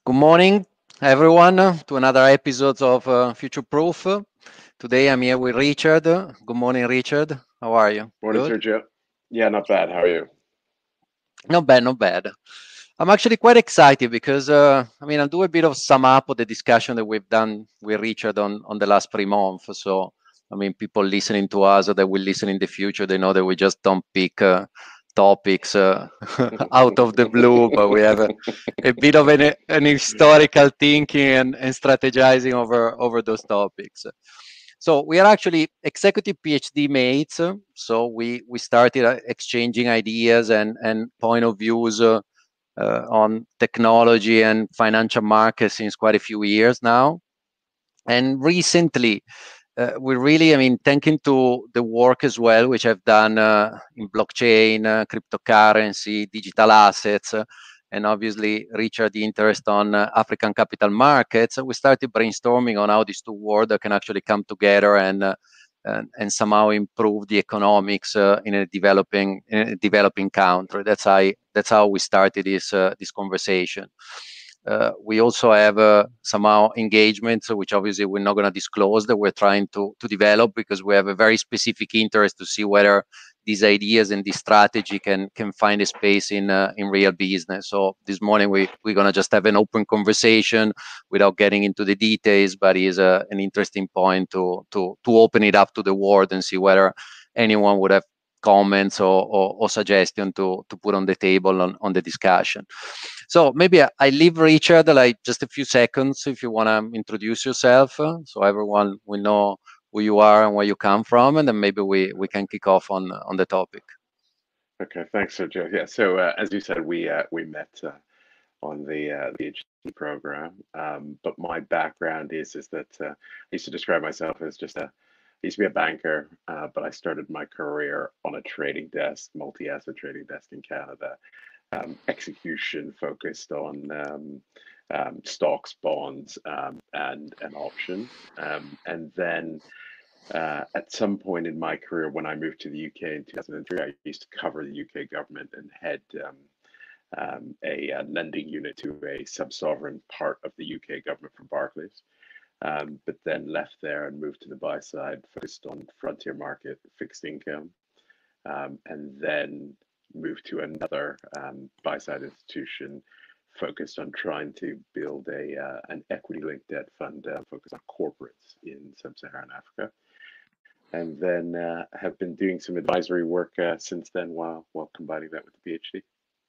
Good morning, everyone, to another episode of Future Proof. Today I'm here with Richard. Good morning, Richard. How are you? Morning, Good? Sergio. Yeah, not bad. How are you? Not bad, not bad. I'm actually quite excited because, I'll do a bit of sum up of the discussion that we've done with Richard on the last 3 months. So, people listening to us or that will listen in the future, they know that we just don't pick topics out of the blue, but we have a bit of an historical thinking and strategizing over those topics. So we are actually executive PhD mates. So we started exchanging ideas and point of views on technology and financial markets since quite a few years now. And recently, we really, thanking to the work as well, which I've done in blockchain, cryptocurrency, digital assets, and obviously Richard, the interest on African capital markets, we started brainstorming on how these two worlds can actually come together and somehow improve the economics in a developing country. That's how we started this conversation. We also have somehow engagements, which obviously we're not going to disclose, that we're trying to develop because we have a very specific interest to see whether these ideas and this strategy can find a space in real business. So this morning we're going to just have an open conversation without getting into the details, but it is an interesting point to open it up to the world and see whether anyone would have comments or suggestion to put on the table on the discussion. So maybe I leave Richard like just a few seconds if you want to introduce yourself, so everyone will know who you are and where you come from, and then maybe we can kick off on the topic. Okay, thanks, Sergio. Yeah, so as you said, we met on the PhD program. But my background is that I used to describe myself as I used to be a banker, but I started my career on a trading desk, multi-asset trading desk in Canada, execution focused on stocks, bonds, and options, and then. At some point in my career, when I moved to the UK in 2003, I used to cover the UK government and head a lending unit to a sub-sovereign part of the UK government for Barclays. But then left there and moved to the buy side, focused on frontier market fixed income, and then moved to another buy side institution focused on trying to build an equity linked debt fund focused on corporates in sub-Saharan Africa, and then have been doing some advisory work since then while combining that with the PhD.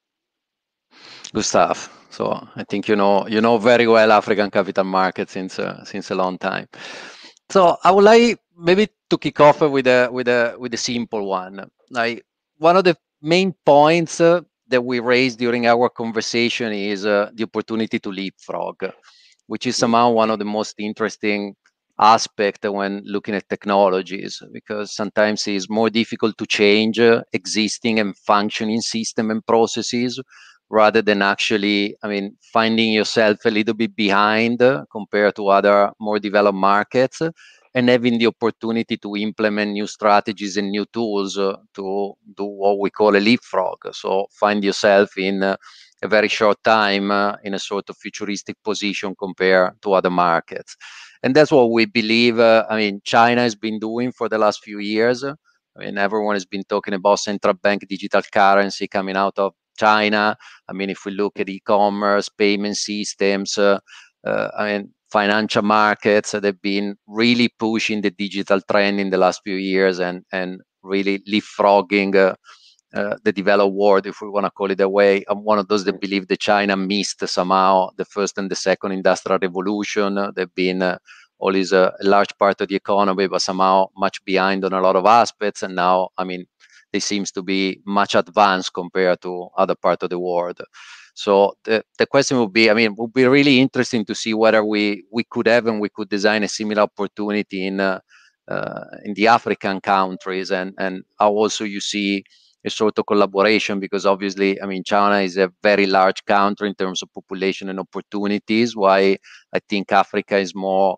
Good stuff. So I think you know very well African capital markets since a long time. So I would like maybe to kick off with a simple one. Like one of the main points that we raised during our conversation is the opportunity to leapfrog, which is Mm. somehow one of the most interesting aspect when looking at technologies, because sometimes it's more difficult to change existing and functioning system and processes rather than actually, finding yourself a little bit behind compared to other more developed markets, and having the opportunity to implement new strategies and new tools to do what we call a leapfrog. So find yourself in a very short time in a sort of futuristic position compared to other markets. And that's what we believe, China has been doing for the last few years. Everyone has been talking about central bank digital currency coming out of China. If we look at e-commerce, payment systems, financial markets, they've been really pushing the digital trend in the last few years and really leapfrogging the developed world, if we want to call it that way. I'm one of those that believe that China missed somehow the first and the second industrial revolution. They've been always a large part of the economy, but somehow much behind on a lot of aspects. And now, they seems to be much advanced compared to other parts of the world. So the question would be, would be really interesting to see whether we could have and we could design a similar opportunity in the African countries, and how also you see a sort of collaboration, because obviously, China is a very large country in terms of population and opportunities. Why I think Africa is more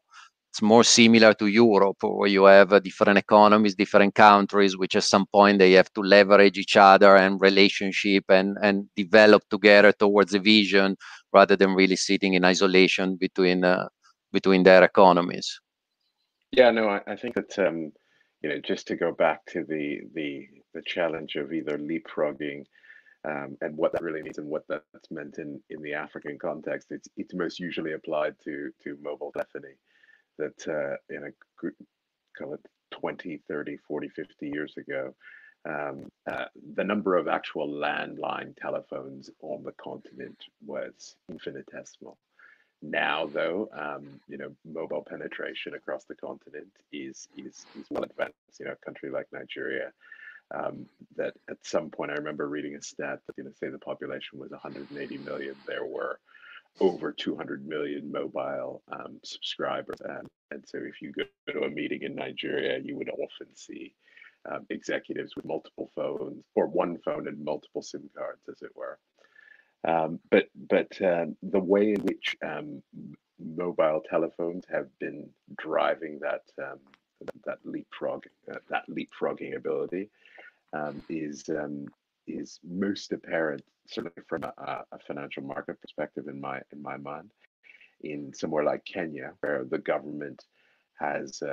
it's more similar to Europe, where you have different economies, different countries, which at some point they have to leverage each other and relationship and develop together towards a vision, rather than really sitting in isolation between their economies. Yeah, no, I think that just to go back to the challenge of either leapfrogging, and what that really means and what that's meant in the African context, it's most usually applied to mobile telephony. That call it 20, 30, 40, 50 years ago, the number of actual landline telephones on the continent was infinitesimal. Now, though, mobile penetration across the continent is well advanced. A country like Nigeria, that at some point I remember reading a stat that say the population was 180 million. There were over 200 million mobile subscribers, and so if you go to a meeting in Nigeria, you would often see executives with multiple phones, or one phone and multiple SIM cards, as it were. But the way in which mobile telephones have been driving that leapfrogging ability is most apparent, certainly from a financial market perspective, in my mind, in somewhere like Kenya, where the government has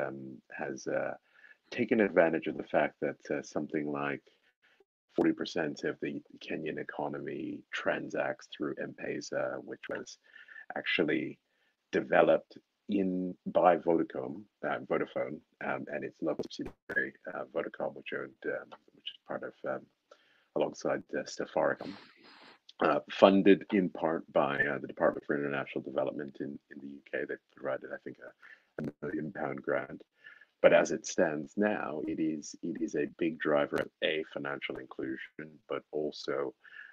taken advantage of the fact that something like 40% of the Kenyan economy transacts through M-Pesa, which was actually developed by Vodafone, and its local subsidiary, Vodacom, which is part of alongside Safaricom, funded in part by the Department for International Development in the UK. They provided, I think, a £1 million grant. But as it stands now, it is a big driver of financial inclusion, but also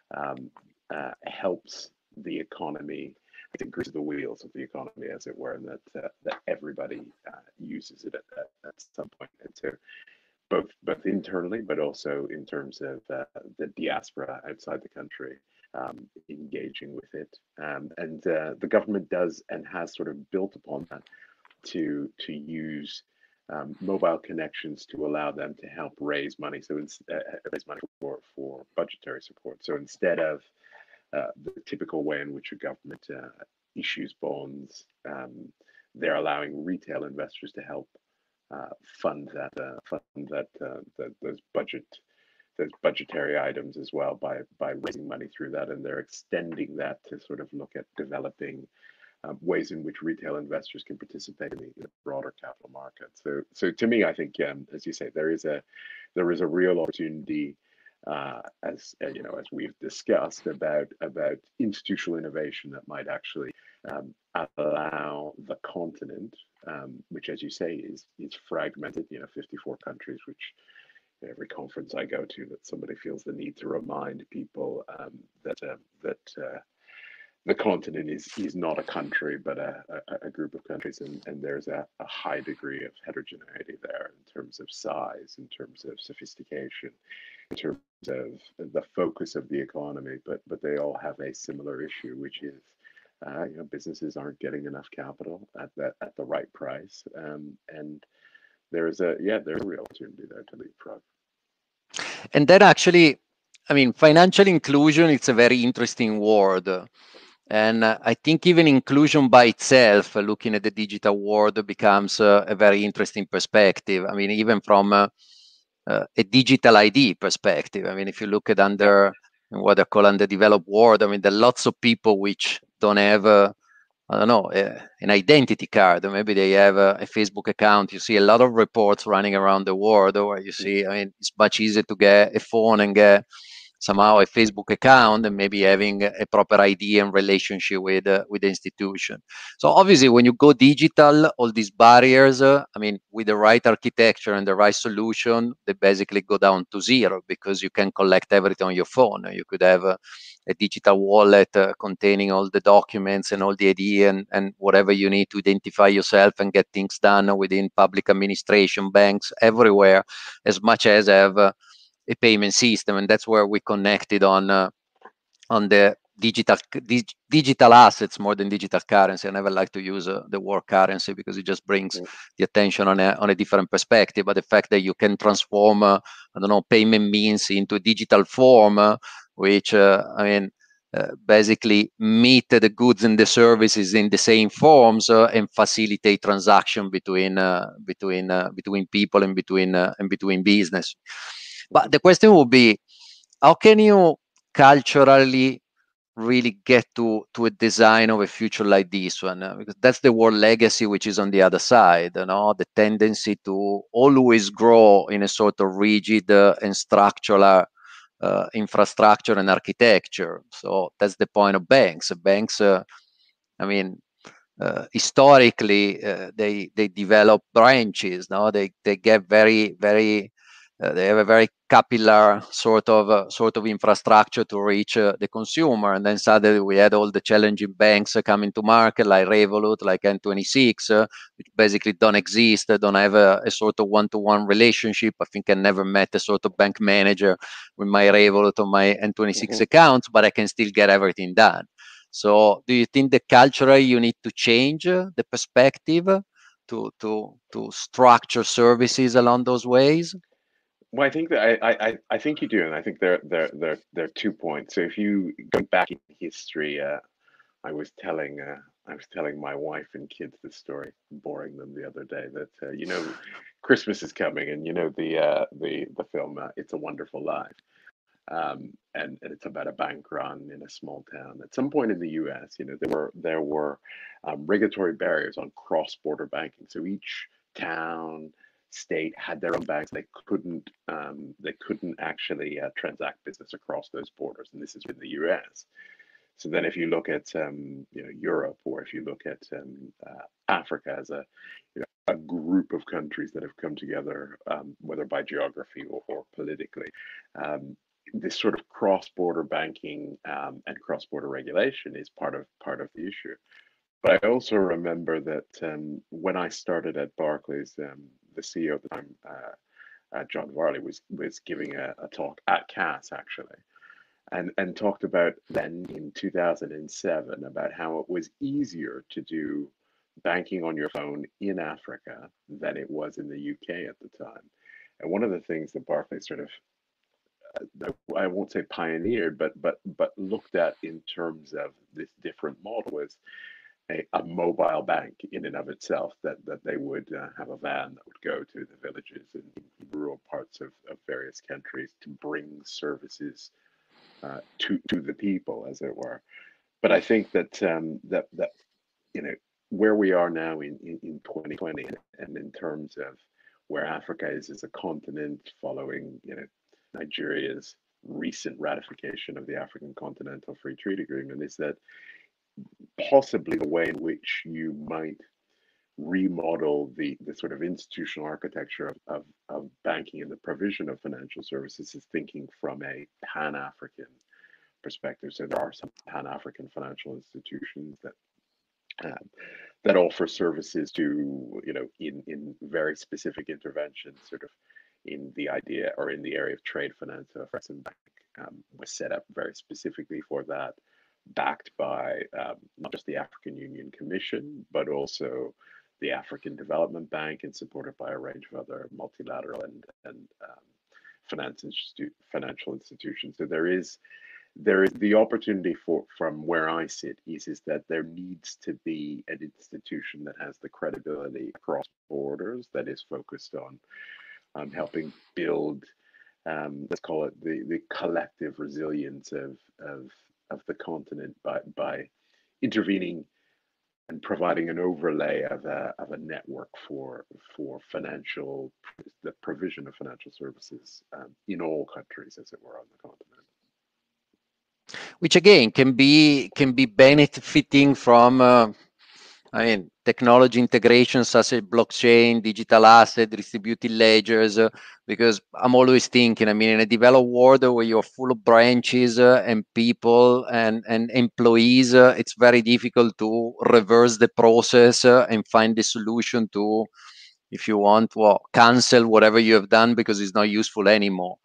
helps the economy. It greases the wheels of the economy, as it were, and that everybody uses it at some point. And so, both internally, but also in terms of the diaspora outside the country engaging with it, and the government does and has sort of built upon that to use mobile connections to allow them to help raise money. So raise money for budgetary support. So instead of the typical way in which a government issues bonds, they're allowing retail investors to help fund those budgetary items as well by raising money through that, and they're extending that to sort of look at developing ways in which retail investors can participate in the broader capital market. So to me, I think, as you say, there is a real opportunity, as we've discussed, about institutional innovation that might actually allow the continent, which, as you say, is fragmented. 54 countries, which every conference I go to, that somebody feels the need to remind people that the continent is not a country, but a group of countries, and there's a high degree of heterogeneity there in terms of size, in terms of sophistication, in terms of the focus of the economy, but they all have a similar issue, which is businesses aren't getting enough capital at the right price, and there's a real opportunity there to leapfrog. And then actually, I mean, financial inclusion, it's a very interesting word. And I think even inclusion by itself, looking at the digital world, becomes a very interesting perspective. I mean, even from a digital ID perspective. I mean, if you look at what they call underdeveloped world, I mean, there are lots of people which don't have, an identity card, or maybe they have a Facebook account. You see a lot of reports running around the world where you see, I mean, it's much easier to get a phone and get somehow a Facebook account and maybe having a proper ID and relationship with the institution. So obviously, when you go digital, all these barriers, I mean, with the right architecture and the right solution, they basically go down to zero, because you can collect everything on your phone. You could have a digital wallet containing all the documents and all the ID and whatever you need to identify yourself and get things done within public administration, banks, everywhere, as much as have a payment system. And that's where we connected on the digital assets more than digital currency. I never like to use the word currency because it just brings the attention on a different perspective. But the fact that you can transform, I don't know, payment means into a digital form, which basically meet the goods and the services in the same forms and facilitate transaction between people and between business. But the question would be, how can you culturally really get to a design of a future like this one? Because that's the word legacy, which is on the other side, the tendency to always grow in a sort of rigid and structural infrastructure and architecture. So that's the point of banks. Banks, historically, they develop branches. They get very they have a very capillary sort of infrastructure to reach the consumer, and then suddenly we had all the challenging banks coming to market, like Revolut, like N26, which basically don't exist. They don't have a sort of one-to-one relationship. I think I never met a sort of bank manager with my Revolut or my N26 accounts, but I can still get everything done. So, do you think that culturally you need to change the perspective to structure services along those ways? Well, I think that I think you do, and I think there are 2 points. So if you go back in history, I was telling my wife and kids this story, boring them the other day, that Christmas is coming, and the film It's a Wonderful Life, and it's about a bank run in a small town. At some point in the U.S., there were regulatory barriers on cross-border banking. So each town, state had their own banks. They couldn't actually transact business across those borders, and this is in the U.S. So then, if you look at Europe, or if you look at Africa as a group of countries that have come together, whether by geography or politically, this sort of cross-border banking and cross-border regulation is part of the issue. But I also remember that when I started at Barclays, the CEO at the time, John Varley, was giving a talk at CAS, actually, and talked about then in 2007 about how it was easier to do banking on your phone in Africa than it was in the UK at the time. And one of the things that Barclays sort of, I won't say pioneered, but looked at in terms of this different model was a mobile bank in and of itself, that they would have a van that would go to the villages in rural parts of various countries to bring services to the people, as it were. But I think that where we are now in 2020, and in terms of where Africa is as a continent, following Nigeria's recent ratification of the African Continental Free Trade Agreement, is that possibly the way in which you might remodel the sort of institutional architecture of banking and the provision of financial services is thinking from a Pan-African perspective. So there are some Pan-African financial institutions that offer services to, in very specific interventions, sort of in the idea or in the area of trade finance. So Afrexim Bank was set up very specifically for that, backed by not just the African Union Commission, but also the African Development Bank, and supported by a range of other multilateral and financial institutions. So there is the opportunity from where I sit is that there needs to be an institution that has the credibility across borders, that is focused on helping build, let's call it the collective resilience of the continent by intervening and providing an overlay of a network for the provision of financial services in all countries, as it were, on the continent. Which again can be benefiting from technology integrations such as blockchain, digital asset, distributed ledgers, because I'm always thinking, in a developed world where you're full of branches and people and employees, it's very difficult to reverse the process and find the solution to, if you want, cancel whatever you have done because it's not useful anymore.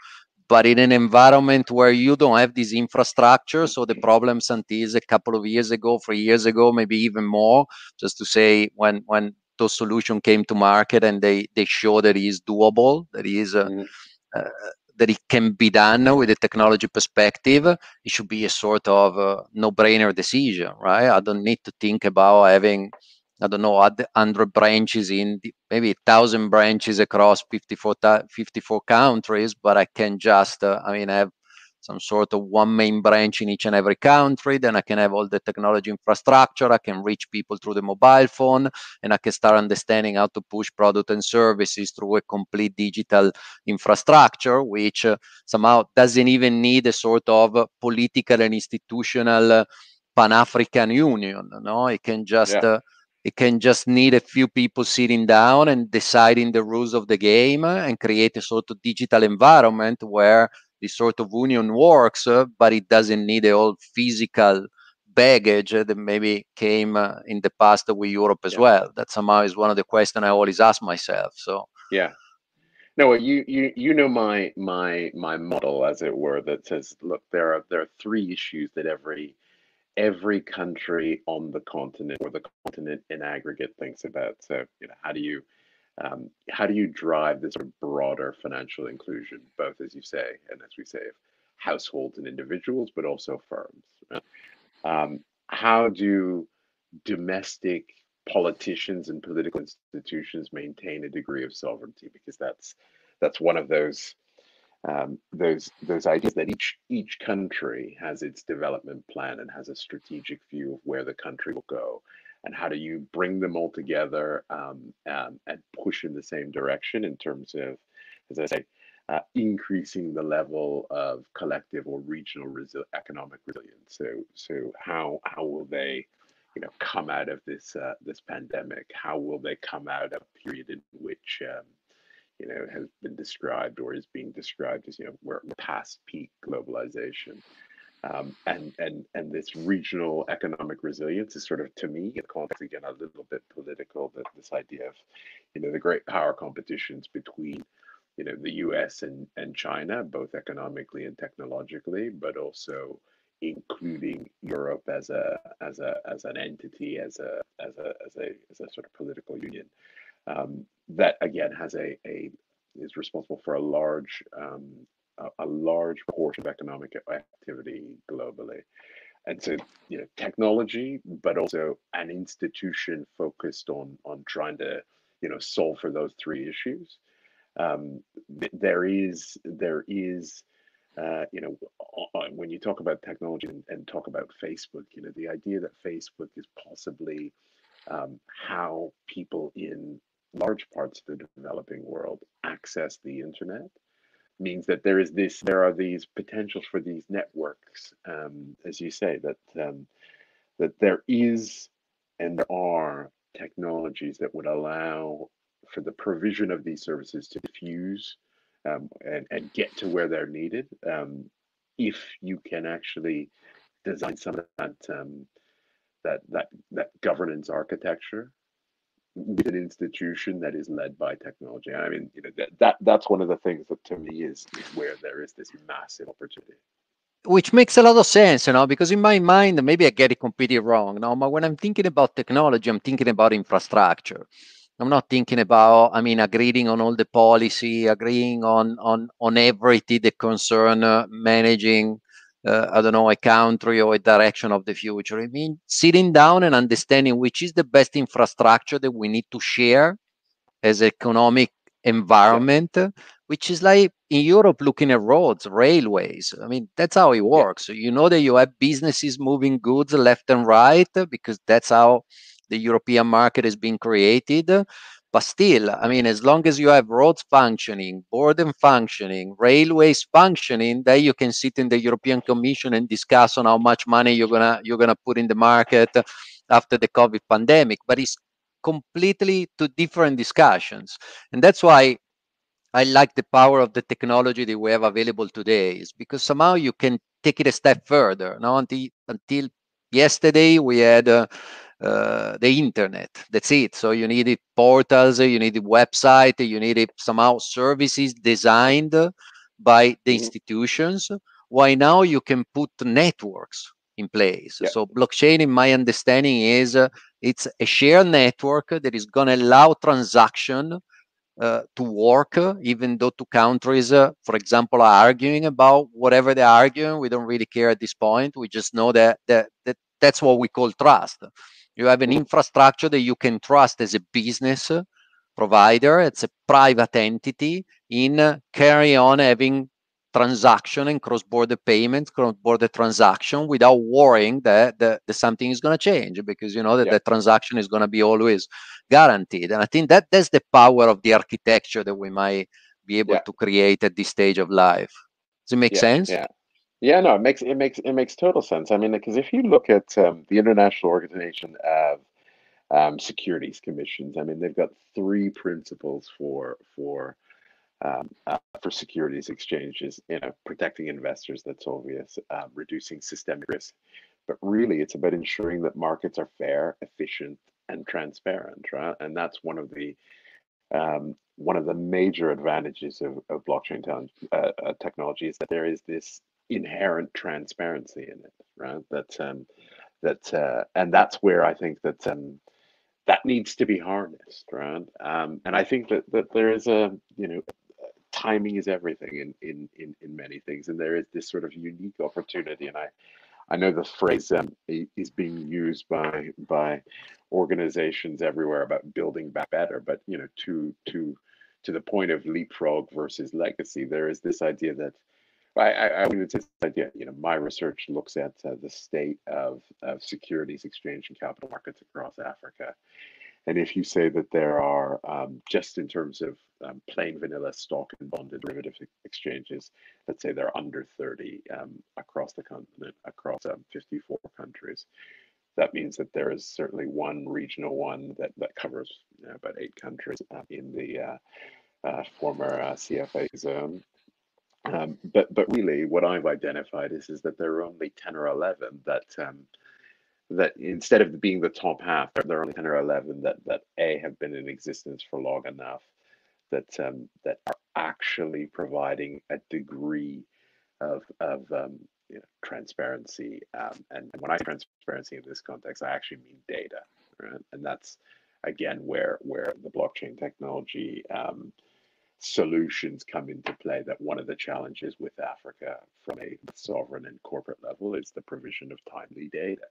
but in an environment where you don't have this infrastructure. So the problems until a couple of years ago, 3 years ago, maybe even more, just to say when those solutions came to market and they show that it is doable, that it is that it can be done with a technology perspective, it should be a sort of no-brainer decision, right? I don't need to think about having, I don't know, 100 branches in maybe 1,000 branches across 54 countries, but I can just, have some sort of one main branch in each and every country. Then I can have all the technology infrastructure. I can reach people through the mobile phone, and I can start understanding how to push product and services through a complete digital infrastructure, which somehow doesn't even need a sort of political and institutional Pan-African Union. No, it can just need a few people sitting down and deciding the rules of the game and create a sort of digital environment where this sort of union works, but it doesn't need a whole physical baggage that maybe came in the past with Europe as well. That somehow is one of the questions I always ask myself. So yeah. No, well, you know my model, as it were, that says, look, there are three issues that every country on the continent, or the continent in aggregate, thinks about. So, how do you drive this sort of broader financial inclusion, both, as you say, and as we say, of households and individuals, but also firms, right? How do domestic politicians and political institutions maintain a degree of sovereignty? Because that's one of those ideas that each country has its development plan and has a strategic view of where the country will go, and how do you bring them all together, and push in the same direction in terms of, as I say, increasing the level of collective or regional economic resilience. So how will they, come out of this pandemic? How will they come out of a period in which has been described, or is being described as, we're past peak globalization, and this regional economic resilience is sort of, to me, in the context, again, a little bit political, that this idea of, the great power competitions between, the US and China, both economically and technologically, but also including Europe as an entity, as a sort of political union, that again is responsible for a large portion of economic activity globally. And so, technology, but also an institution focused on trying to, solve for those three issues. There is, when you talk about technology and talk about Facebook, the idea that Facebook is possibly how people in large parts of the developing world access the internet, means that there are these potentials for these networks, as you say, that there is and there are technologies that would allow for the provision of these services to diffuse, and get to where they're needed, if you can actually design some of that governance architecture with an institution that is led by technology. I mean, that's one of the things that, to me, is where there is this massive opportunity. Which makes a lot of sense, because in my mind, maybe I get it completely wrong, but when I'm thinking about technology, I'm thinking about infrastructure. I'm not thinking about, agreeing on all the policy, agreeing on everything that concern managing, I don't know, a country or a direction of the future. I mean, sitting down and understanding which is the best infrastructure that we need to share as economic environment, which is like in Europe, looking at roads, railways. I mean, that's how it works. So you know that you have businesses moving goods left and right, because that's how the European market is being created. But still, as long as you have roads functioning, border functioning, railways functioning, then you can sit in the European Commission and discuss on how much money you're gonna put in the market after the COVID pandemic. But it's completely two different discussions, and that's why I like the power of the technology that we have available today, is because somehow you can take it a step further. Now, until yesterday, we had the internet. That's it. So you needed portals, you needed website, you needed somehow services designed by the institutions, why now you can put networks in place. So blockchain, in my understanding, is it's a shared network that is going to allow transaction to work, even though two countries, for example, are arguing about whatever they're arguing. We don't really care at this point. We just know that that's what we call trust. You have an infrastructure that you can trust as a business provider. It's a private entity in carry on having transaction and cross-border payments, cross-border transaction without worrying that something is going to change, because you know that the transaction is going to be always guaranteed. And I think that's the power of the architecture that we might be able to create at this stage of life. Does it make sense? Yeah, no, it makes total sense. I mean, because if you look at the International Organization of Securities Commissions, I mean, they've got three principles for securities exchanges. You know, protecting investors, that's obvious. Reducing systemic risk, but really, it's about ensuring that markets are fair, efficient, and transparent, right? And that's one of the major advantages of blockchain technology, is that there is this inherent transparency in it, right? And that's where I think that that needs to be harnessed, right? And I think that there is timing is everything in many things, and there is this sort of unique opportunity. And I know the phrase is being used by organizations everywhere about building back better, but you know, to the point of leapfrog versus legacy, there is this idea that I would say this idea. You know, my research looks at the state of securities exchange and capital markets across Africa. And if you say that there are, just in terms of plain vanilla stock and bond and derivative exchanges, let's say they're under 30 across the continent, across 54 countries. That means that there is certainly one regional one that covers about 8 countries in the former CFA zone. But really, what I've identified is that there are only 10 or 11 that instead of being the top half, there are only 10 or 11 that have been in existence for long enough that are actually providing a degree of transparency. And when I say transparency in this context, I actually mean data, right? And that's again where the blockchain technology solutions come into play. That one of the challenges with Africa from a sovereign and corporate level is the provision of timely data.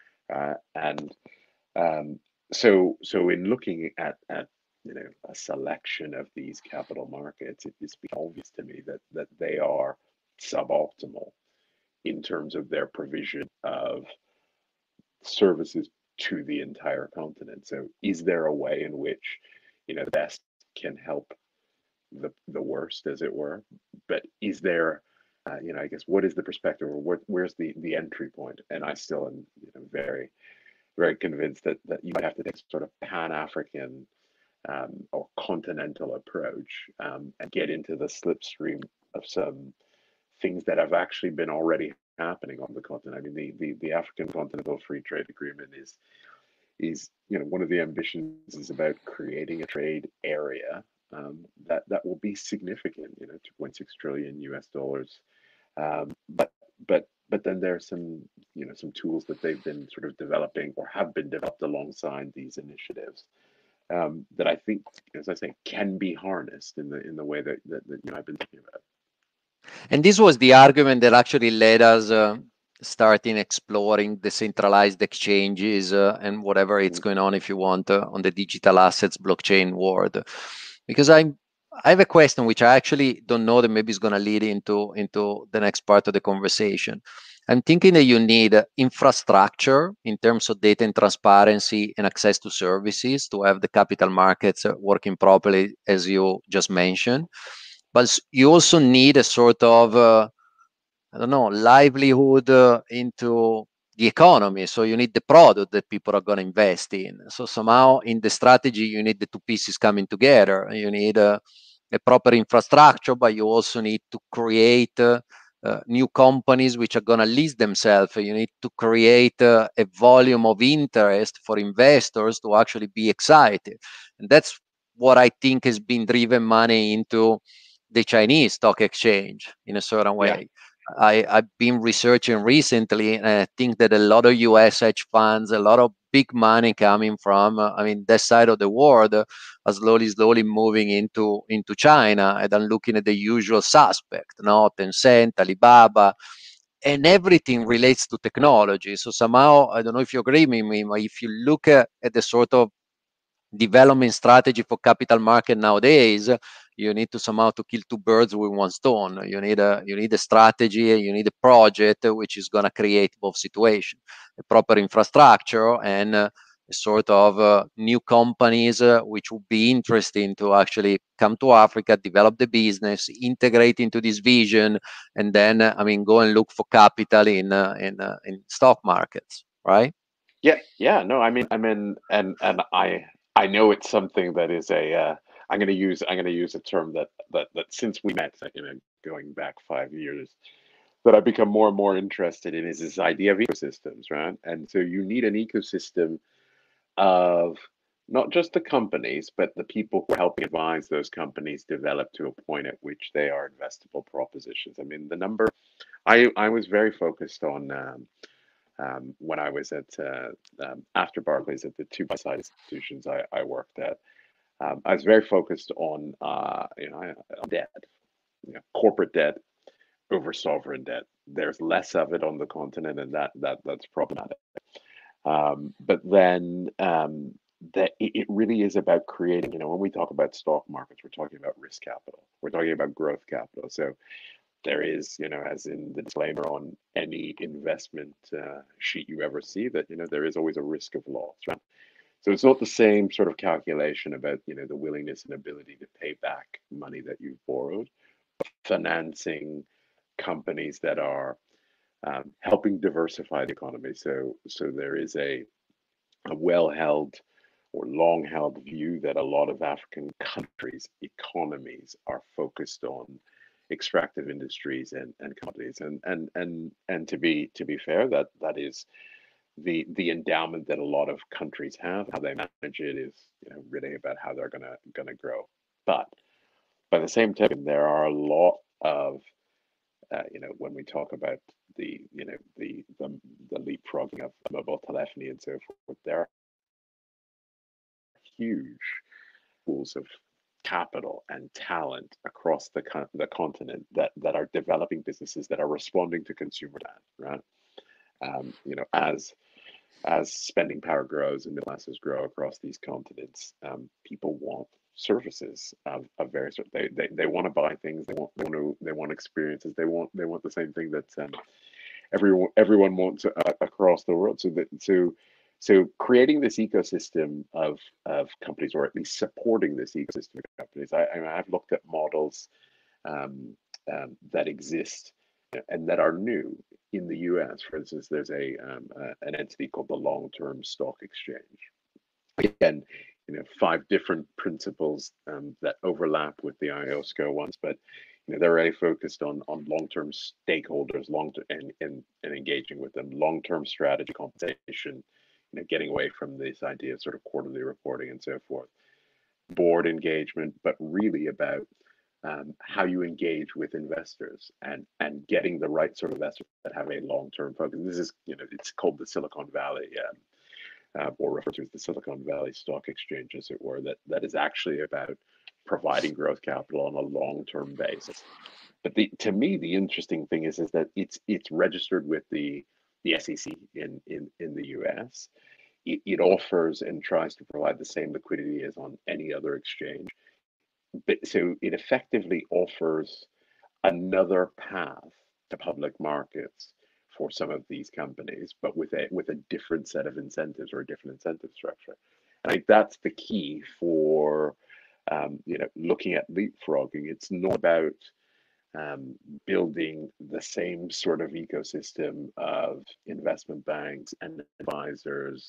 So in looking at a selection of these capital markets, it's obvious to me that they are suboptimal in terms of their provision of services to the entire continent. So is there a way in which the best can help the worst, as it were? But is there I guess, what is the perspective, or where's the entry point? And I still am very, very convinced that you might have to take sort of Pan-African or continental approach and get into the slipstream of some things that have actually been already happening on the continent. I mean, the African Continental Free Trade Agreement is one of the ambitions is about creating a trade area that will be significant, $2.6 trillion US dollars. But then there's some tools that they've been sort of developing or have been developed alongside these initiatives that I think, as I say, can be harnessed in the way that I've been thinking about. And this was the argument that actually led us starting exploring decentralized exchanges and whatever it's going on, if you want, on the digital assets blockchain world. Because I have a question which I actually don't know, that maybe is going to lead into the next part of the conversation. I'm thinking that you need infrastructure in terms of data and transparency and access to services to have the capital markets working properly, as you just mentioned. But you also need a sort of, livelihood into the economy. So you need the product that people are going to invest in. So somehow in the strategy, you need the two pieces coming together. You need a proper infrastructure, but you also need to create new companies which are going to list themselves. You need to create a volume of interest for investors to actually be excited. And that's what I think has been driven money into the Chinese stock exchange in a certain Yeah. way. I've been researching recently, and I think that a lot of US hedge funds, a lot of big money coming from, I mean, that side of the world, are slowly moving into China, and I'm looking at the usual suspect, no, Tencent, Alibaba, and everything relates to technology. So somehow, I don't know if you agree with me, but if you look at the sort of development strategy for capital market nowadays, you need to somehow to kill two birds with one stone. You need a strategy, and you need a project which is going to create both situation, a proper infrastructure, and a sort of new companies which would be interesting to actually come to Africa, develop the business, integrate into this vision, and then I mean go and look for capital in stock markets, right? Yeah, yeah, no, and I know it's something that is a I'm gonna use a term that since we met, going back 5 years, that I've become more and more interested in is this idea of ecosystems, right? And so you need an ecosystem of not just the companies, but the people who are helping advise those companies develop to a point at which they are investable propositions. I mean, the number I was very focused on. When I was at after Barclays at the two buy-side institutions I worked at. I was very focused on on debt, corporate debt over sovereign debt. There's less of it on the continent, and that's problematic. But then that it really is about creating. When we talk about stock markets, we're talking about risk capital. We're talking about growth capital. So there is, as in the disclaimer on any investment sheet you ever see, that there is always a risk of loss, right? So it's not the same sort of calculation about the willingness and ability to pay back money that you've borrowed, financing companies that are helping diversify the economy. So there is a well-held or long-held view that a lot of African countries' economies are focused on extractive industries and companies. And to be fair, that is the endowment that a lot of countries have. How they manage it is really about how they're gonna grow. But by the same token, there are a lot of when we talk about the leapfrogging of mobile telephony and so forth, there are huge pools of capital and talent across the continent that are developing businesses that are responding to consumer demand, right? As spending power grows and middle classes grow across these continents, people want services of various sort. They want to buy things. They want experiences. They want the same thing that everyone wants across the world. So creating this ecosystem of companies, or at least supporting this ecosystem of companies. I've looked at models that exist and that are new in the U.S. For instance, there's an entity called the Long-Term Stock Exchange. Again, 5 different principles that overlap with the IOSCO ones, but they're really focused on long-term stakeholders, and engaging with them, long-term strategy, compensation, getting away from this idea of sort of quarterly reporting and so forth, board engagement, but really about how you engage with investors and getting the right sort of investors that have a long-term focus. This is, it's called the Silicon Valley, or referred to as the Silicon Valley Stock Exchange, as it were, that is actually about providing growth capital on a long-term basis. But to me, the interesting thing is that it's registered with the SEC in the US. It offers and tries to provide the same liquidity as on any other exchange. But so it effectively offers another path to public markets for some of these companies, but with a different set of incentives, or a different incentive structure. And I think that's the key for looking at leapfrogging. It's not about building the same sort of ecosystem of investment banks and advisors,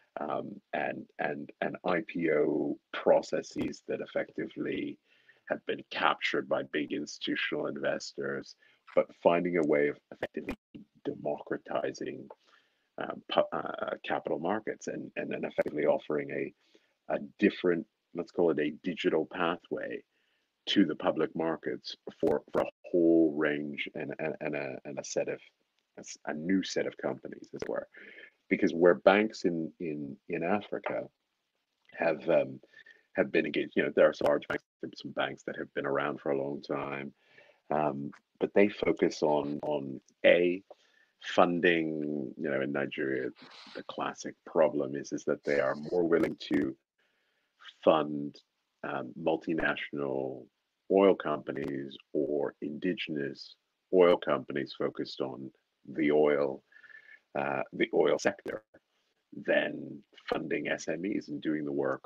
and IPO processes that effectively have been captured by big institutional investors, but finding a way of effectively democratizing capital markets, and then effectively offering a different, let's call it a digital pathway to the public markets for a whole range and a set of a new set of companies, as it were. Because where banks in Africa have been engaged, there are some large banks, some banks that have been around for a long time, but they focus on funding. In Nigeria, the classic problem is that they are more willing to fund multinational oil companies or indigenous oil companies focused on the oil sector than funding SMEs and doing the work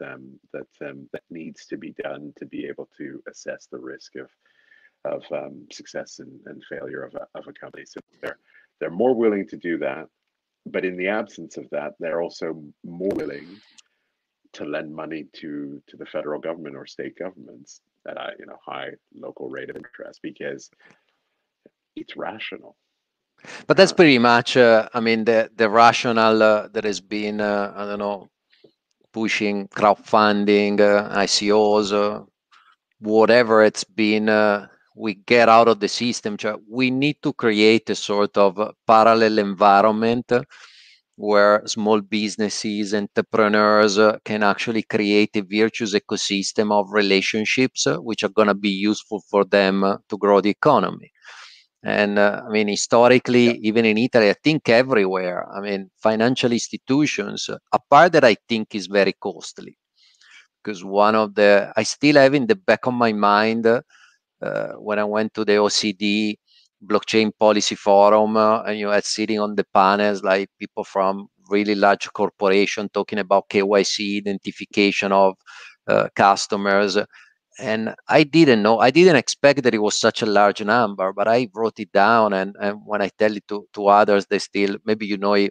that needs to be done to be able to assess the risk of success and failure of a company. So they're more willing to do that, but in the absence of that, they're also more willing to lend money to the federal government or state governments at a high local rate of interest because it's rational. But that's pretty much, I mean, the rationale that has been, I don't know, pushing crowdfunding, ICOs, whatever it's been, we get out of the system. We need to create a sort of parallel environment where small businesses, entrepreneurs can actually create a virtuous ecosystem of relationships which are going to be useful for them to grow the economy. And I mean, historically, even in Italy, I think everywhere, I mean, financial institutions, a part that I think is very costly, because I still have in the back of my mind when I went to the OECD blockchain policy forum, and you had sitting on the panels like people from really large corporation talking about KYC identification of customers. And I didn't expect that it was such a large number, but I wrote it down. And when I tell it to others, they still, maybe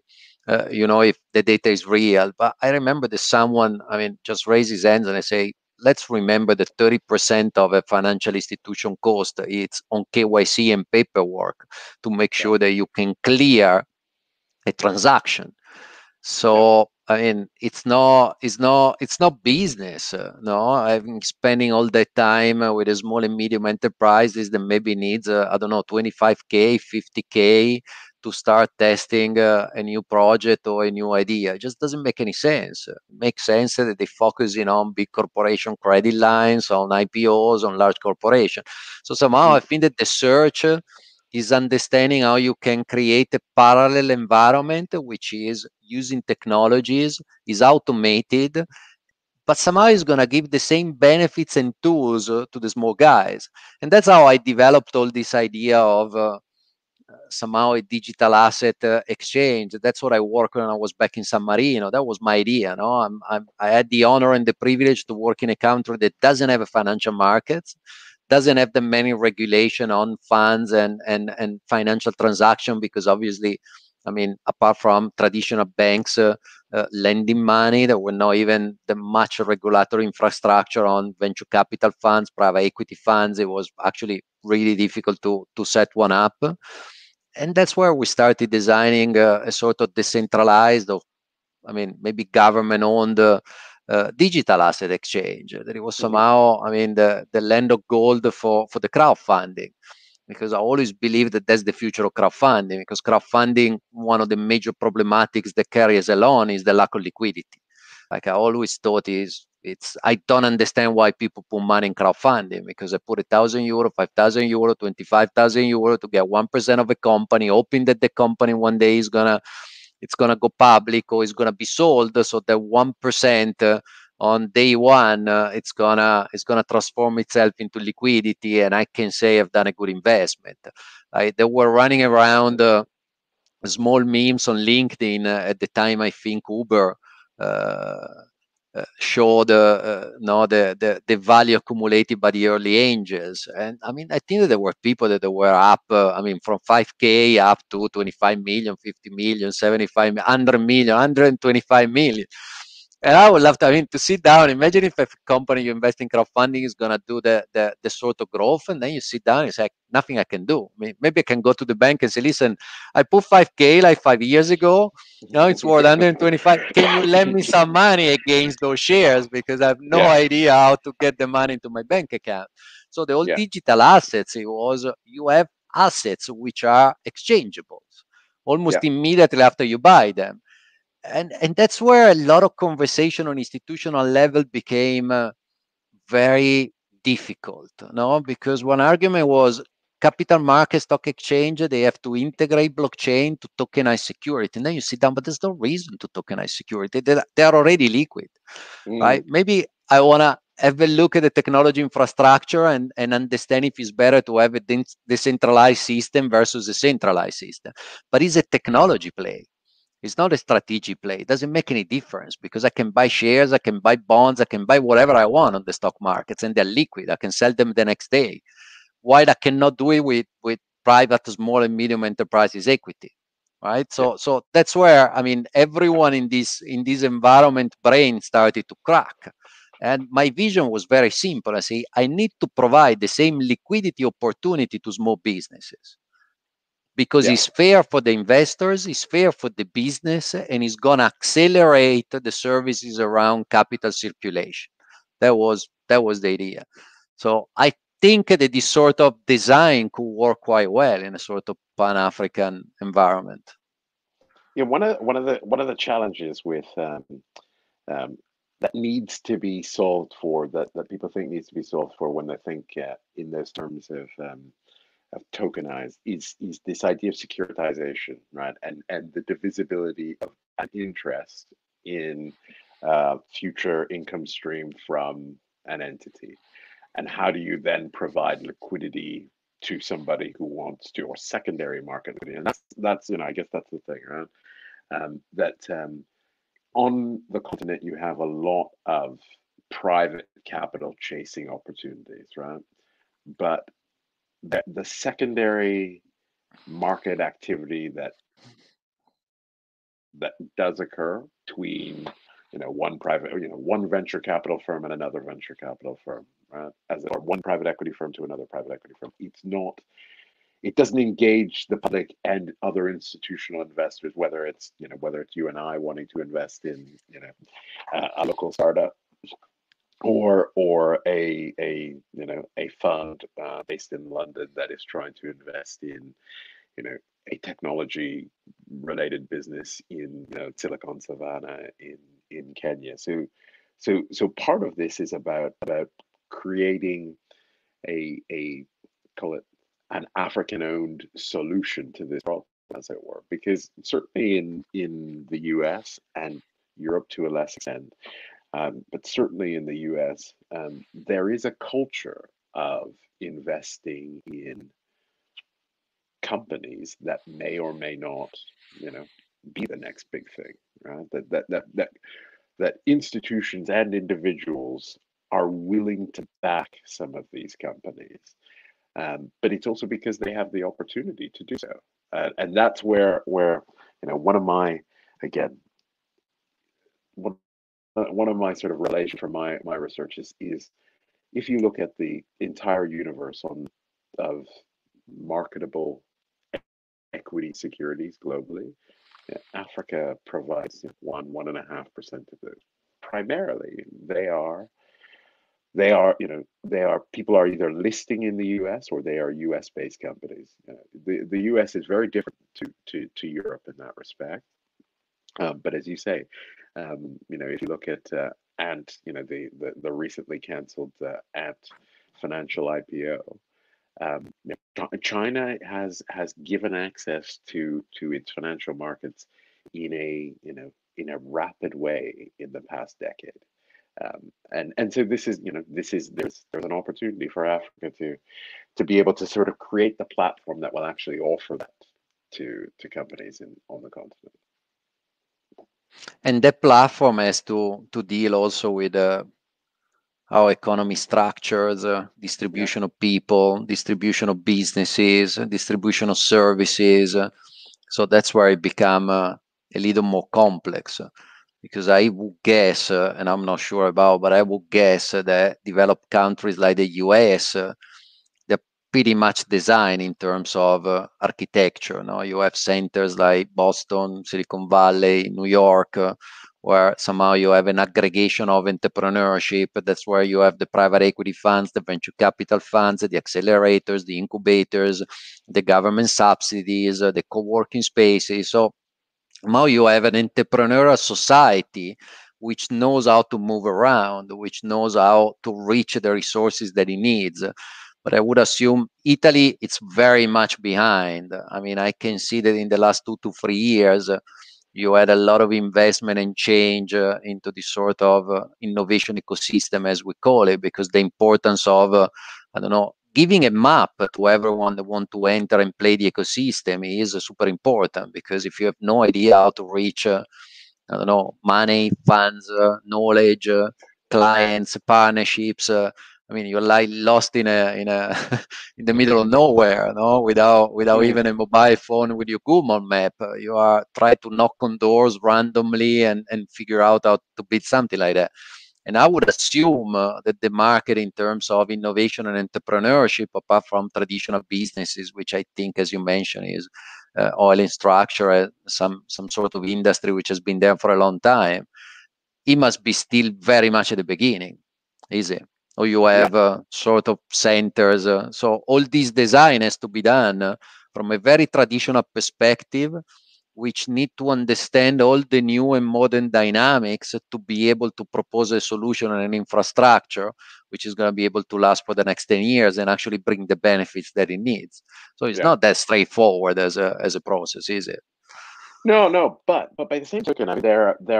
if the data is real. But I remember that someone, I mean, just raise his hands and I say, let's remember that 30% of a financial institution cost, it's on KYC and paperwork to make sure that you can clear a transaction. So I mean, it's not business. No, I'm spending all that time with a small and medium enterprises that maybe needs I don't know, 25K, 50K to start testing a new project or a new idea. It just doesn't make any sense. It makes sense that they focus on big corporation credit lines, on IPOs, on large corporation. So somehow I think that the search is understanding how you can create a parallel environment which is using technologies, is automated, but somehow is going to give the same benefits and tools to the small guys. And that's how I developed all this idea of somehow a digital asset exchange. That's what I worked on when I was back in San Marino. That was my idea. No, I had the honor and the privilege to work in a country that doesn't have a financial markets, doesn't have the many regulation on funds and financial transaction, because obviously, I mean, apart from traditional banks lending money, there were not even the much regulatory infrastructure on venture capital funds, private equity funds. It was actually really difficult to set one up. And that's where we started designing a sort of decentralized, or I mean, maybe government-owned digital asset exchange. That it was somehow, I mean, the land of gold for the crowdfunding, because I always believe that that's the future of crowdfunding. Because crowdfunding, one of the major problematics that carries along is the lack of liquidity. Like I always thought I don't understand why people put money in crowdfunding, because I put €1,000, €5,000, €25,000 to get 1% of a company, hoping that the company one day it's gonna go public or it's gonna be sold, so that 1% on day one it's gonna transform itself into liquidity, and I can say I've done a good investment. They were running around small memes on LinkedIn at the time. I think Uber showed the value accumulated by the early angels. And I mean, I think that there were people that were up, I mean, from 5K up to 25 million, 50 million, 75, 100 million, 125 million. And I would love to, I mean, to sit down. Imagine if a company you invest in crowdfunding is gonna do the sort of growth, and then you sit down, it's like nothing I can do. I mean, maybe I can go to the bank and say, listen, I put 5K like 5 years ago. Now it's worth 125. Can you lend me some money against those shares? Because I have no Yeah, idea how to get the money into my bank account. So the whole yeah, digital assets, it was you have assets which are exchangeable almost yeah, immediately after you buy them. And that's where a lot of conversation on institutional level became very difficult, no? Because one argument was capital market stock exchange, they have to integrate blockchain to tokenize security. And then you sit down, but there's no reason to tokenize security. They are already liquid, right? mm, Maybe I want to have a look at the technology infrastructure and understand if it's better to have a decentralized system versus a centralized system. But it's a technology play. It's not a strategic play. It doesn't make any difference because I can buy shares, I can buy bonds, I can buy whatever I want on the stock markets, and they're liquid. I can sell them the next day. Why I cannot do it with private, small, and medium enterprises equity, right? yeah, So that's where, I mean, everyone in this environment brain started to crack. And my vision was very simple. I say I need to provide the same liquidity opportunity to small businesses because yeah. it's fair for the investors, it's fair for the business, and it's going to accelerate the services around capital circulation. That was the idea. So I think that this sort of design could work quite well in a sort of Pan-African environment. Yeah, one of the challenges with um, that needs to be solved for that people think needs to be solved for when they think in those terms of tokenized is this idea of securitization, right? And the divisibility of an interest in future income stream from an entity. And how do you then provide liquidity to somebody who wants to, or secondary market liquidity? And that's I guess that's the thing, right? That on the continent you have a lot of private capital chasing opportunities, right? But the secondary market activity that does occur between one venture capital firm and another venture capital firm, right? Or one private equity firm to another private equity firm. It doesn't engage the public and other institutional investors, whether it's you and I wanting to invest in a local startup, or a fund based in London that is trying to invest in a technology related business in Silicon Savannah in Kenya. So part of this is about creating a call it an African owned solution to this problem, as it were, because certainly in the US and Europe to a less extent, but certainly in the US, there is a culture of investing in companies that may or may not, be the next big thing, right? That institutions and individuals are willing to back some of these companies, but it's also because they have the opportunity to do so, and that's where one of my again one one of my sort of relation from my research is if you look at the entire universe of marketable equity securities globally, Africa provides 1.5% of those. Primarily, people are either listing in the U.S. or they are U.S. based companies. The U.S. is very different to Europe in that respect. But as you say, if you look at Ant, the recently cancelled Ant financial IPO, China has given access to its financial markets in a rapid way in the past decade. And so there's an opportunity for Africa to be able to sort of create the platform that will actually offer that to companies on the continent. And that platform has to deal also with how economy structures, Yeah, distribution of people, distribution of businesses, distribution of services. So that's where it become a little more complex. because I would guess, and I'm not sure about, but I would guess that developed countries like the US, they're pretty much designed in terms of architecture. No, you have centers like Boston, Silicon Valley, New York, where somehow you have an aggregation of entrepreneurship. That's where you have the private equity funds, the venture capital funds, the accelerators, the incubators, the government subsidies, the co-working spaces. So now you have an entrepreneurial society which knows how to move around, which knows how to reach the resources that it needs. But I would assume Italy, it's very much behind. I mean, I can see that in the last 2 to 3 years, you had a lot of investment and change into this sort of innovation ecosystem, as we call it, because the importance of, I don't know, giving a map to everyone that want to enter and play the ecosystem is super important. Because if you have no idea how to reach, I don't know, money, funds, knowledge, clients, partnerships. I mean, you're like lost in a in the middle of nowhere, no, without Mm. even a mobile phone with your Google map. You are trying to knock on doors randomly and figure out how to build something like that. And I would assume that the market in terms of innovation and entrepreneurship, apart from traditional businesses, which I think, as you mentioned, is oil and structure, some sort of industry which has been there for a long time, it must be still very much at the beginning, is it? Or you Yeah. have sort of centers. So all this design has to be done from a very traditional perspective, which need to understand all the new and modern dynamics to be able to propose a solution and an infrastructure which is going to be able to last for the next 10 years and actually bring the benefits that it needs. So it's Yeah. not that straightforward as a process, is it? No, no, but by the same token, I mean,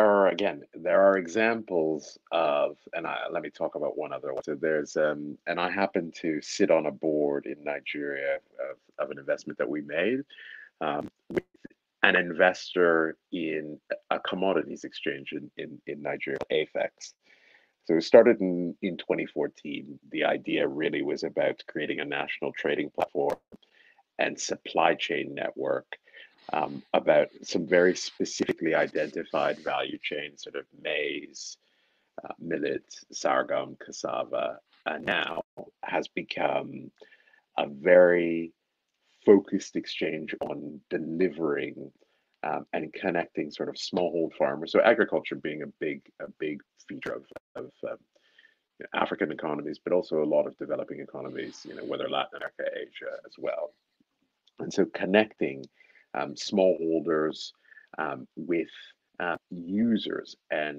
there are examples of, and let me talk about one other one. So there's, and I happen to sit on a board in Nigeria of an investment that we made, with an investor in a commodities exchange in Nigeria, AFEX. So it started in 2014. The idea really was about creating a national trading platform and supply chain network, about some very specifically identified value chains, sort of maize, millet, sorghum, cassava, and now has become a very focused exchange on delivering, and connecting sort of smallhold farmers. So agriculture being a big feature of African economies, but also a lot of developing economies, whether Latin America, Asia as well. And so connecting, smallholders, with users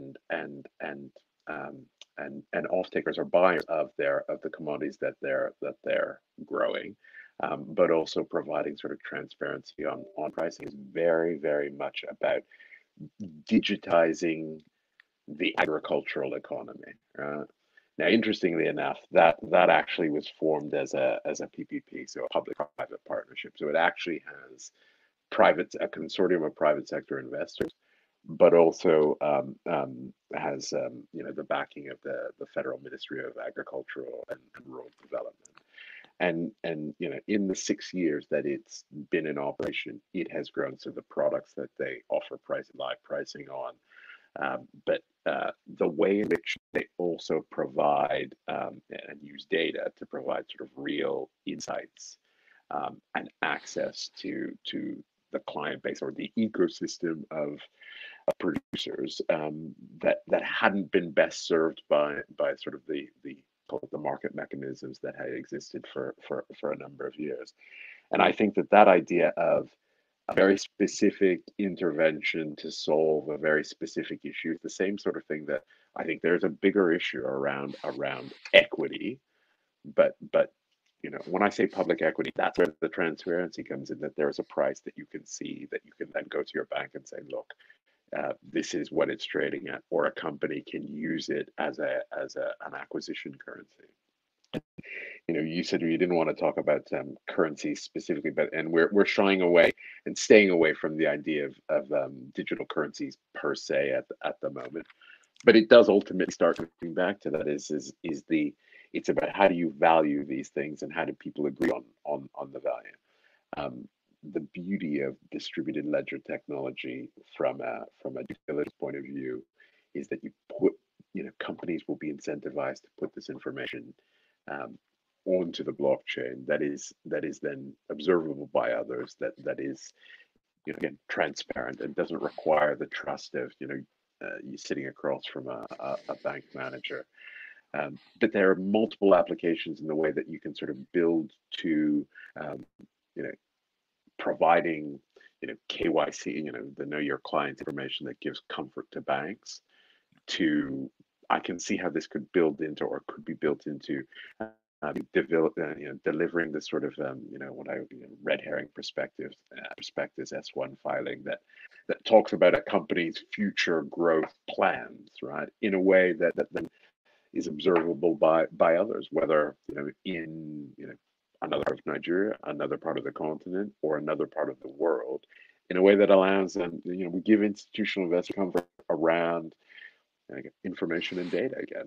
um, and off takers or buyers of the commodities that they're growing, but also providing sort of transparency on pricing is very, very much about digitizing the agricultural economy. Now, interestingly enough, that actually was formed as a PPP, so a public-private partnership. So it actually has a consortium of private sector investors, but also, has, the backing of the Federal Ministry of Agricultural and Rural Development. And in the 6 years that it's been in operation, it has grown. So the products that they offer live pricing on, but the way in which they also provide, and use data to provide sort of real insights, and access to the client base or the ecosystem of producers, that hadn't been best served by sort of the market mechanisms that had existed for a number of years. And I think that idea of a very specific intervention to solve a very specific issue is the same sort of thing that I think there's a bigger issue around equity, but when I say public equity, that's where the transparency comes in, that there's a price that you can see, that you can then go to your bank and say, look, this is what it's trading at, or a company can use it as an acquisition currency. You said you didn't want to talk about, currency specifically, but and we're shying away and staying away from the idea of digital currencies per se at the moment. But it does ultimately start coming back to that is the it's about how do you value these things and how do people agree on the value. the beauty of distributed ledger technology from a due diligence point of view is that you put, companies will be incentivized to put this information um, onto the blockchain that is then observable by others, that is, again, transparent and doesn't require the trust of, you sitting across from a bank manager. But there are multiple applications in the way that you can sort of build to, you know, providing, KYC, the know your client information that gives comfort to banks. To I can see how this could build into, or could be built into, delivering this sort of, what I would, red herring prospectus S1 filing that talks about a company's future growth plans, right, in a way that then is observable by others, whether, in, another part of Nigeria, another part of the continent, or another part of the world, in a way that allows them, we give institutional investors comfort around information and data again.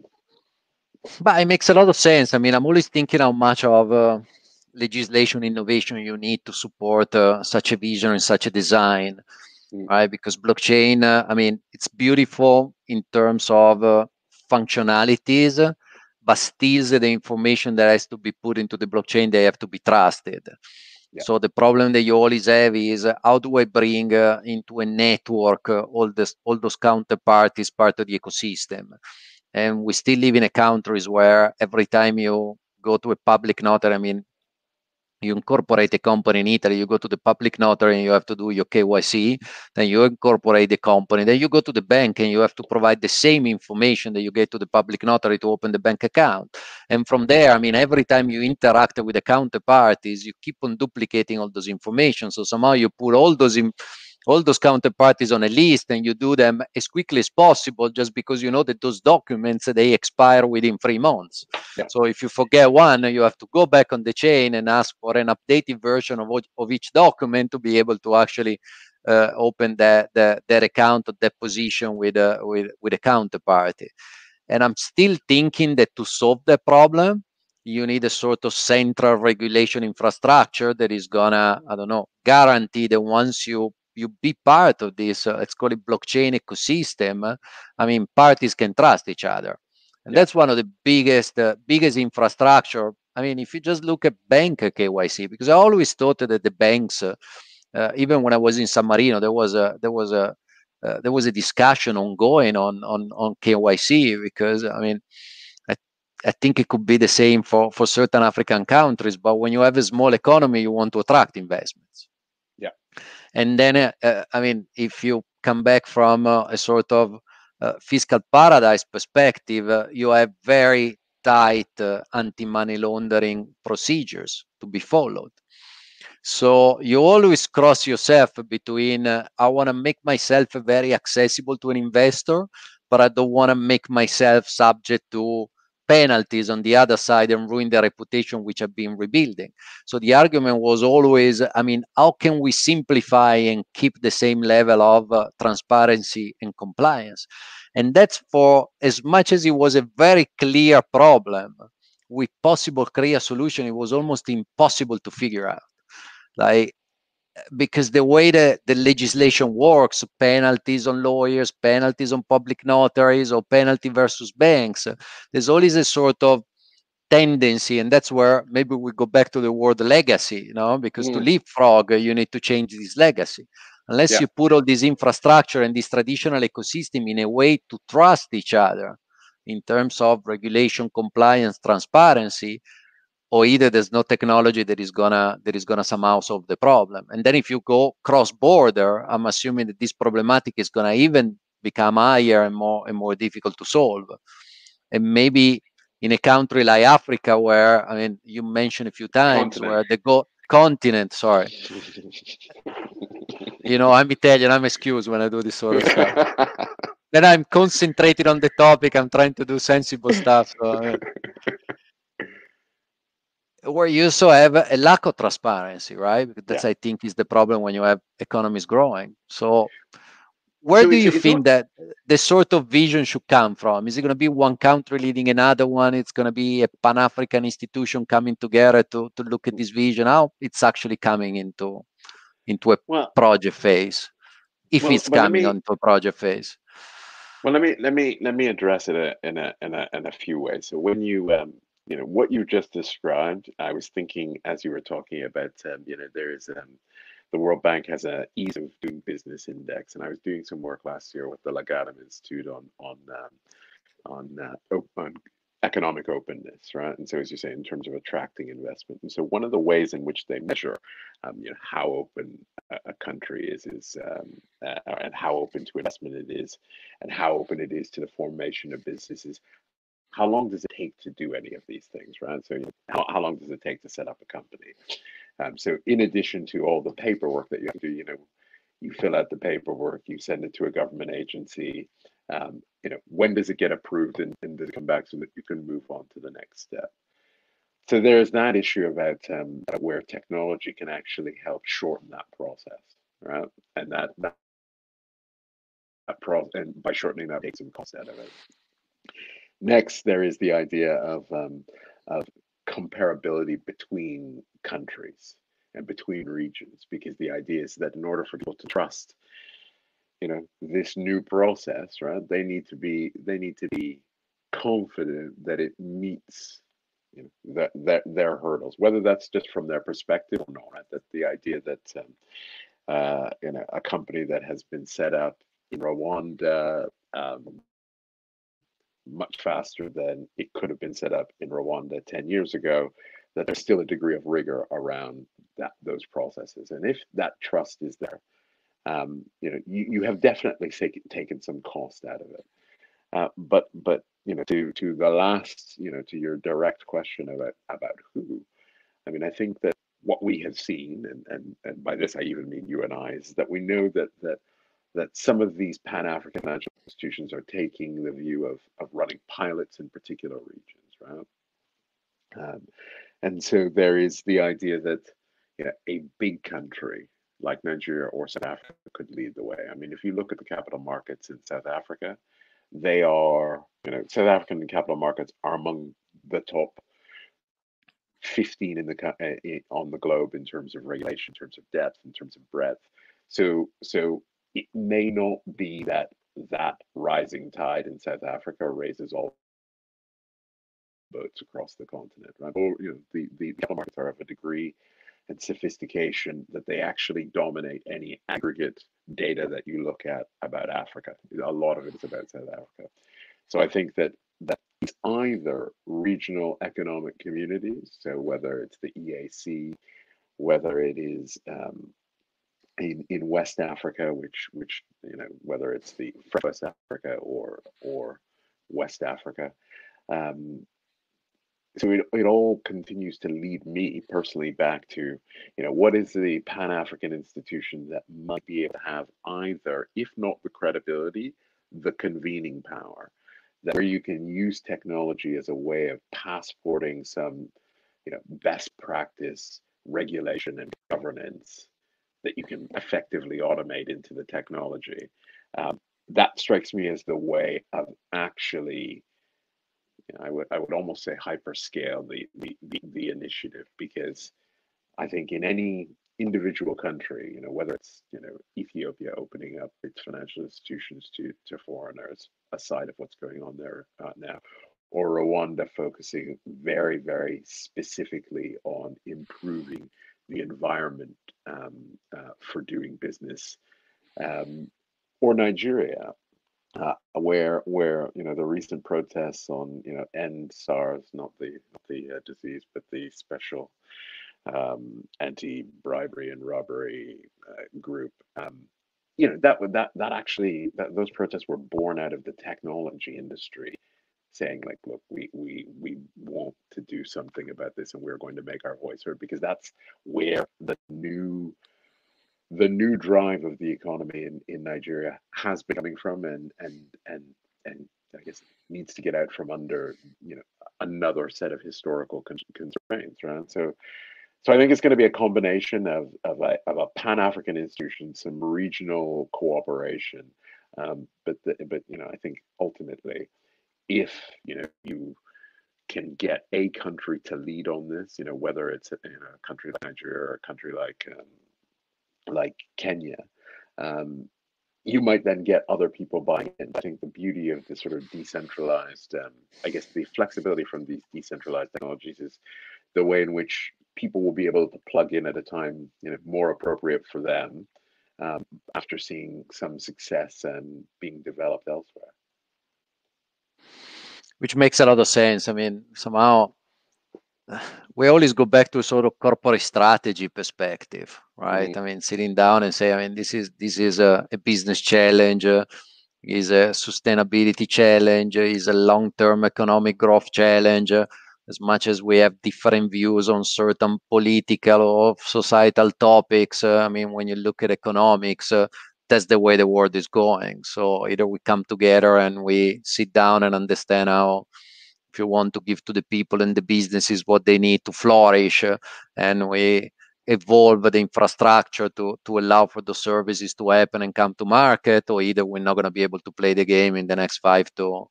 But it makes a lot of sense. I mean, I'm always thinking how much of legislation innovation you need to support such a vision and such a design, right? Because blockchain, I mean, it's beautiful in terms of functionalities, but still the information that has to be put into the blockchain, they have to be trusted. Yeah. So the problem that you always have is how do I bring into a network all those counterparties part of the ecosystem? And we still live in a countries where every time you go to a public notary, I mean, you incorporate a company in Italy, you go to the public notary and you have to do your KYC, then you incorporate the company, then you go to the bank and you have to provide the same information that you get to the public notary to open the bank account. And from there, I mean, every time you interact with the counterparties, you keep on duplicating all those information. So somehow you put all those counterparties on a list and you do them as quickly as possible, just because you know that those documents, they expire within 3 months. Yeah. So if you forget one, you have to go back on the chain and ask for an updated version of each document to be able to actually open that account or that position with a counterparty. And I'm still thinking that to solve that problem, you need a sort of central regulation infrastructure that is gonna, I don't know, guarantee that once you be part of this, let's call it blockchain ecosystem, I mean, parties can trust each other. And that's one of the biggest infrastructure. I mean, if you just look at bank KYC, because I always thought that the banks, even when I was in San Marino, there was a discussion ongoing on KYC, because I mean, I think it could be the same for certain African countries. But when you have a small economy, you want to attract investments. Yeah. And then, I mean, if you come back from a sort of fiscal paradise perspective, you have very tight anti-money laundering procedures to be followed. So you always cross yourself between I want to make myself very accessible to an investor, but I don't want to make myself subject to penalties on the other side and ruin the reputation which I've been rebuilding. So the argument was always, I mean, how can we simplify and keep the same level of transparency and compliance? And that's, for as much as it was a very clear problem, with possible clear solution, it was almost impossible to figure out. Like, because the way that the legislation works, penalties on lawyers, penalties on public notaries, or penalty versus banks, there's always a sort of tendency, and that's where maybe we go back to the word legacy, because to leapfrog, you need to change this legacy. Unless you put all this infrastructure and this traditional ecosystem in a way to trust each other in terms of regulation, compliance, transparency, or either there's no technology that is gonna somehow solve the problem. And then if you go cross border, I'm assuming that this problematic is gonna even become higher and more difficult to solve. And maybe in a country like Africa, where, I mean, you mentioned a few times, where the continent, sorry. I'm Italian, I'm excused when I do this sort of stuff. Then I'm concentrated on the topic, I'm trying to do sensible stuff. So, where you also have a lack of transparency, right? That's, I think, is the problem when you have economies growing. So where do you think that the sort of vision should come from? Is it going to be one country leading another one? It's going to be a Pan-African institution coming together to look at this vision? How it's actually coming into into a Well, project phase, if well, it's but let coming me onto a project phase. well let me address it in a few ways. So when you know what you just described, I was thinking as you were talking about you know there is the World Bank has a ease of doing business index, and I was doing some work last year with the Lagardère Institute on economic openness, right? And so, as you say, in terms of attracting investment, and so one of the ways in which they measure, you know, how open a country and how open to investment it is, and how open it is to the formation of businesses. How long does it take to do any of these things, right? So, you know, how long does it take to set up a company? So, in addition to all the paperwork that you have to do, you know, you fill out the paperwork, you send it to a government agency. You know, when does it get approved and does it come back so that you can move on to the next step? So there's that issue about where technology can actually help shorten that process, right? And and by shortening that, take some cost out of it. Next, there is the idea of comparability between countries and between regions, because the idea is that in order for people to trust, you know, this new process, right, they need to be confident that it meets, you know, their hurdles, whether that's just from their perspective or not. Right? That the idea that you know, a company that has been set up in Rwanda much faster than it could have been set up in Rwanda 10 years ago, that there's still a degree of rigor around those processes. And if that trust is there, you know, you have definitely taken some cost out of it. But you know, to the last, you know, to your direct question about who, I mean, I think that what we have seen, and by this I even mean you and I, is that we know that some of these Pan-African financial institutions are taking the view of running pilots in particular regions, right? Um, and so there is the idea that, you know, a big country like Nigeria or South Africa could lead the way. I mean, if you look at the capital markets in South Africa, they are, you know, South African capital markets are among the top 15 on the globe in terms of regulation, in terms of depth, in terms of breadth. So it may not be that rising tide in South Africa raises all boats across the continent, right? Or, you know, the capital markets are of a degree and sophistication that they actually dominate any aggregate data that you look at about Africa. A lot of it is about South Africa. So I think that it's either regional economic communities, so whether it's the EAC, whether it is in West Africa, which you know, whether it's the West Africa or West Africa. Um, so it all continues to lead me personally back to, you know, what is the Pan-African institution that might be able to have either, if not the credibility, the convening power, that where you can use technology as a way of passporting some, you know, best practice regulation and governance that you can effectively automate into the technology. Um, that strikes me as the way of actually, you know, I would almost say hyperscale the initiative, because I think in any individual country, you know, whether it's, you know, Ethiopia opening up its financial institutions to foreigners, aside of what's going on there now, or Rwanda focusing very, very specifically on improving the environment for doing business, um, or Nigeria, where you know, the recent protests on, you know, end SARS, not the disease, but the special anti-bribery and robbery group. You know, that actually, those protests were born out of the technology industry saying, like, look, we want to do something about this, and we're going to make our voice heard, because that's where the new drive of the economy in Nigeria has been coming from, and I guess needs to get out from under, you know, another set of historical constraints, right? So I think it's going to be a combination of a Pan-African institution, some regional cooperation, but you know, I think ultimately, if you know, you can get a country to lead on this, you know, whether it's, you know, a country like Nigeria or a country like Kenya, you might then get other people buying in. I think the beauty of the sort of decentralized, I guess the flexibility from these decentralized technologies is the way in which people will be able to plug in at a time, more appropriate for them, after seeing some success and being developed elsewhere. Which makes a lot of sense. I mean, somehow we always go back to a sort of corporate strategy perspective, right? I mean, sitting down and say, I mean, this is a business challenge, is a sustainability challenge, is a long-term economic growth challenge. As much as we have different views on certain political or societal topics, I mean, when you look at economics, that's the way the world is going. So either we come together and we sit down and understand how, if you want to give to the people and the businesses what they need to flourish, and we evolve the infrastructure to allow for the services to happen and come to market, or either we're not going to be able to play the game in the next 5 to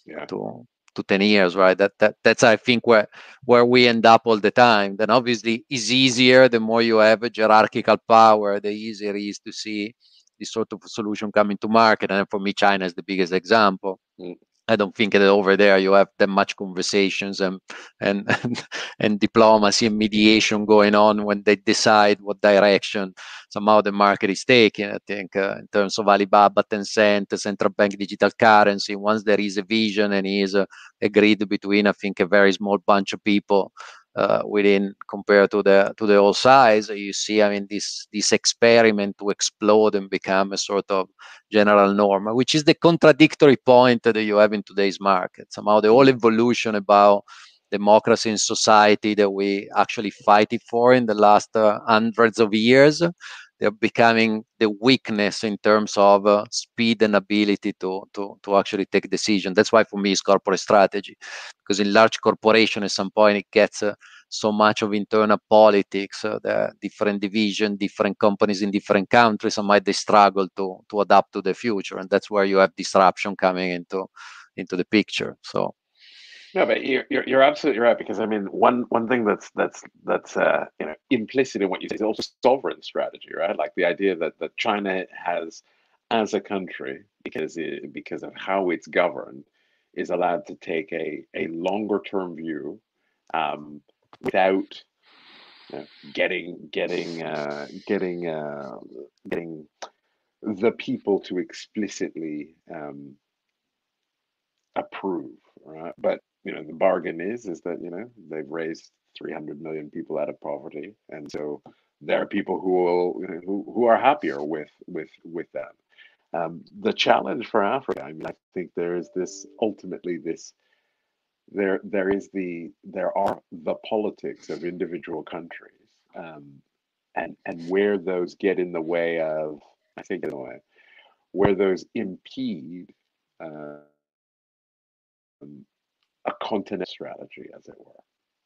10 years, right? That's I think where we end up all the time. Then obviously it's easier, the more you have a hierarchical power, the easier it is to see this sort of solution coming to market. And for me, China is the biggest example. I don't think that over there you have that much conversations and and diplomacy and mediation going on when they decide what direction somehow the market is taking. I think in terms of Alibaba, Tencent, central bank digital currency, once there is a vision and is agreed between, I think, a very small bunch of people within, compared to the whole size, you see, I mean, this experiment to explode and become a sort of general norm, which is the contradictory point that you have in today's market. Somehow the whole evolution about democracy in society that we actually fight it for in the last hundreds of years, they're becoming the weakness in terms of speed and ability to actually take decision. That's why for me it's corporate strategy, because in large corporation at some point it gets so much of internal politics, the different division, different companies in different countries, and might they struggle to adapt to the future, and that's where you have disruption coming into the picture. So no, but you're absolutely right, because I mean, one thing that's implicit in what you say is also sovereign strategy, right? Like the idea that China has, as a country, because of how it's governed, is allowed to take a longer term view, without getting the people to explicitly approve, right? But the bargain is that they've raised 300 million people out of poverty, and so there are people who will who are happier with that. The challenge for Africa, I mean, I think there is this ultimately this there are the politics of individual countries, and where those get in the way of, I think, in a way, where those impede a continent strategy, as it were.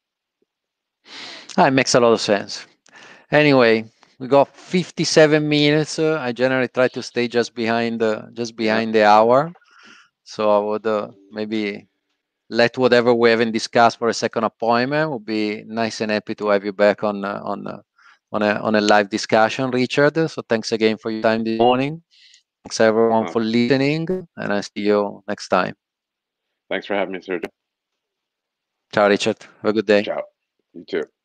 it makes a lot of sense. Anyway, we got 57 minutes. I generally try to stay just behind the hour, so I would maybe let whatever we haven't discussed for a second appointment. Would be nice and happy to have you back on a live discussion, Richard. So thanks again for your time this morning. Thanks everyone for listening, and I see you next time. Thanks for having me, Sergio. Ciao, Richard. Have a good day. Ciao. You too.